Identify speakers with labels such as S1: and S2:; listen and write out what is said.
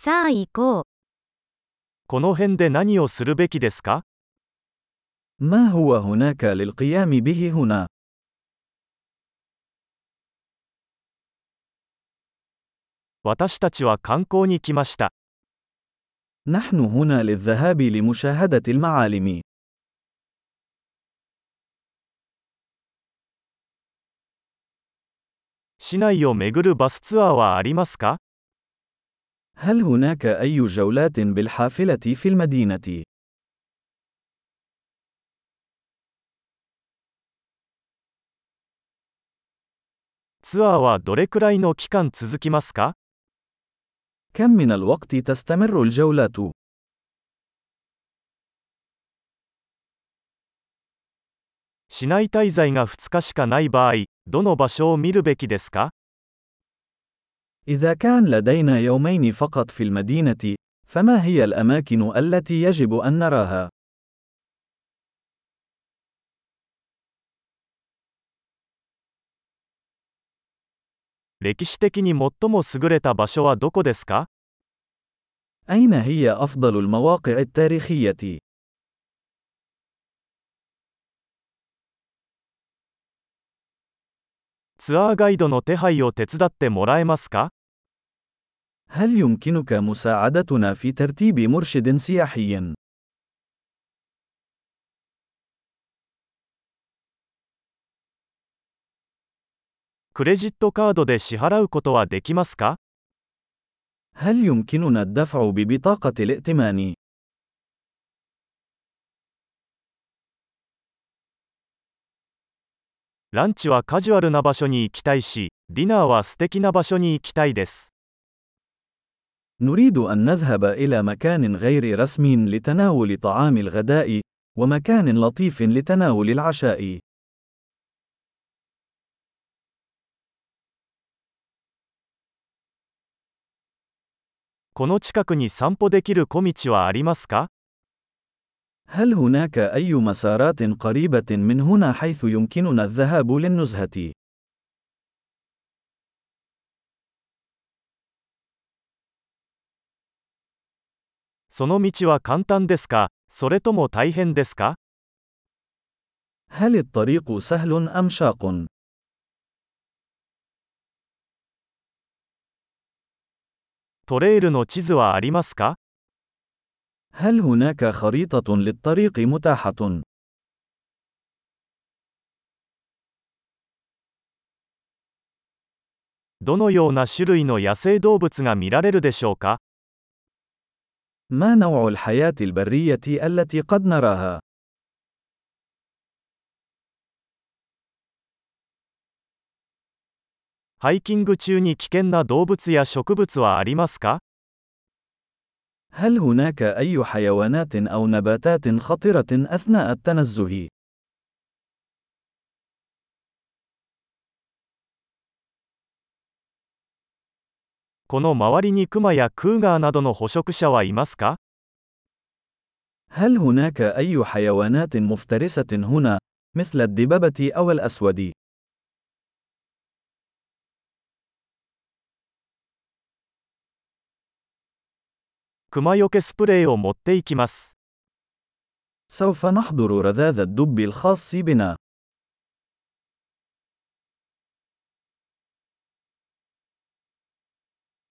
S1: さあ行こう。
S2: この辺で何をするべきですか？
S3: ما هو هناك للقيام به هنا؟
S2: 私たちは観光に来ました。
S3: نحن هنا للذهاب لمشاهدة المعالم.
S2: 市内を巡るバスツアーはありますか？
S3: هل هناك أي جولات بالحافلة في المدينة؟
S2: ツアーはどれくらいの期間続きますか？
S3: كم من الوقت تستمر الجولات؟
S2: 市内滞在が2日しかない場合、どの場所を見るべきですか？
S3: إذا كان لدينا يومين فقط في المدينة، فما هي الأماكن التي يجب أن نراها؟
S2: 歴史的に最も優れた場所はどこですか？
S3: أين هي أفضل المواقع التاريخية؟
S2: ツアーガイドの手配を手伝ってもらえますか？
S3: هل يمكنك مساعدتنا في ترتيب مرشد سياحي؟
S2: クレジットカードで支払うことはできますか？
S3: هل يمكننا الدفع ببطاقة الائتمان؟
S2: ランチはカジュアルな場所に行きたいし、ディナーは素敵な場所に行きたいです。
S3: نريد أن نذهب إلى مكان غير رسمي لتناول طعام الغداء، ومكان لطيف لتناول العشاء.
S2: この近くに散歩できる小道はありますか？
S3: هل هناك أي مسارات قريبة من هنا حيث يمكننا الذهاب للنزهة؟
S2: その道は簡単ですか、それとも大変ですか？
S3: هل الطريق سهل أم شاق؟
S2: トレイルの地図はありますか？
S3: هل هناك خريطة للطريق متاحة؟
S2: どのような種類の野生動物が見られるでしょうか？
S3: ما نوع الحياة البرية التي قد نراها؟
S2: ハイキング中に危険な動物や植物はありますか？
S3: هل هناك أي حيوانات أو نباتات خطرة أثناء التنزه؟
S2: この周りにクマやクーガーなどの捕食者はいますか？
S3: هل هناك أي حيوانات مفترسة هنا، مثل الدببة أو الأسود؟
S2: クマよけスプレーを持っていきます。
S3: سوف نحضر رذاذ الدب الخاص بنا.